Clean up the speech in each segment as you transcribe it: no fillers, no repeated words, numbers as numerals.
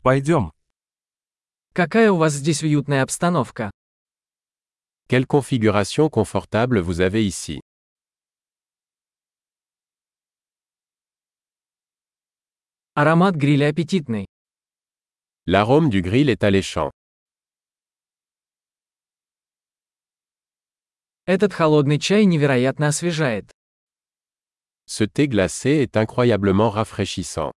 Пойдем. Какая у вас здесь уютная обстановка. Quelle configuration confortable vous avez ici. Аромат гриля аппетитный. L'arôme du grill est alléchant. Этот холодный чай невероятно освежает. Ce thé glacé est incroyablement rafraîchissant.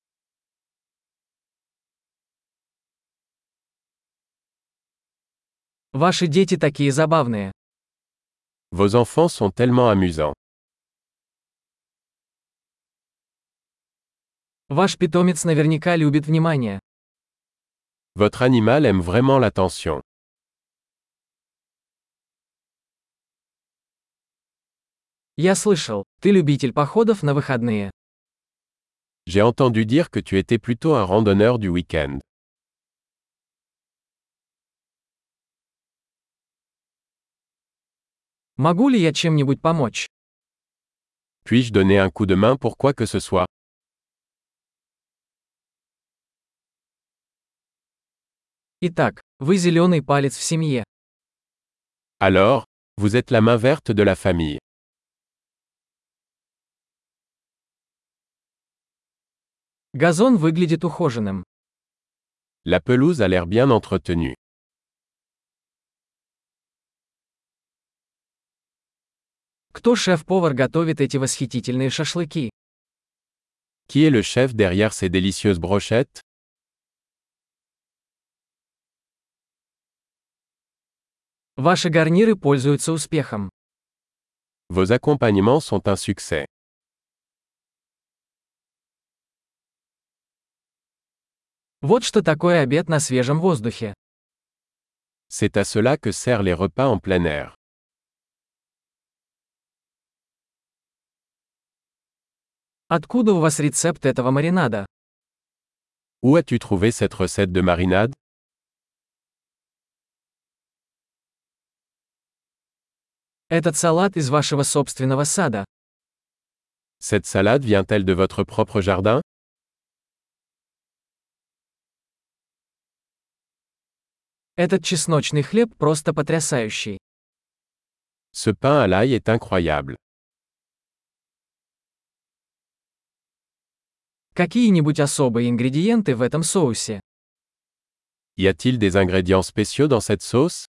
Ваши дети такие забавные. Vos enfants sont tellement amusants. Ваш питомец наверняка любит внимание. Votre animal aime vraiment l'attention. Я слышал, ты любитель походов на выходные. J'ai entendu dire que tu étais plutôt un randonneur du week-end. Могу ли я чем-нибудь помочь? Puis-je donner un coup de main pour quoi que ce soit? Итак, вы зеленый палец в семье. Alors, vous êtes la main verte de la famille. Газон выглядит ухоженным. La pelouse a l'air bien entretenue. Кто шеф-повар готовит эти восхитительные шашлыки? Qui est le chef derrière ces délicieuses brochettes? Ваши гарниры пользуются успехом. Vos accompagnements sont un succès. Вот что такое обед на свежем воздухе. C'est à cela que servent les repas en plein air. Откуда у вас рецепт этого маринада? Où as-tu trouvé cette recette de marinade? Этот салат из вашего собственного сада. Cette salade vient-elle de votre propre jardin? Этот чесночный хлеб просто потрясающий. Ce pain à l'ail est incroyable. Какие-нибудь особые ингредиенты в этом соусе? Y a-t-il des ingrédients spéciaux dans cette sauce?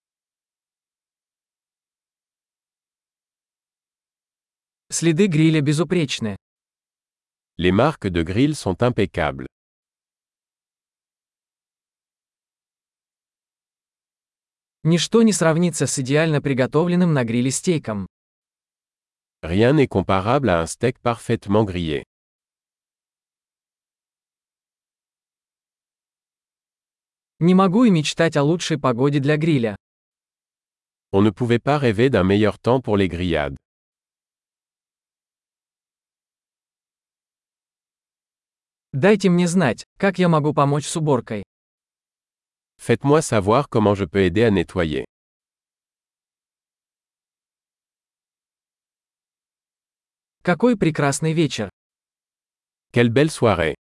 Следы гриля безупречны. Les marques de grill sont impeccables. Ничто не сравнится с идеально приготовленным на гриле стейком. Rien n'est comparable à un steak parfaitement grillé. Не могу и мечтать о лучшей погоде для гриля. On ne pouvait pas rêver d'un meilleur temps pour les grillades. Дайте мне знать, как я могу помочь с уборкой. Faites-moi savoir comment je peux aider à nettoyer. Какой прекрасный вечер. Quelle belle soirée!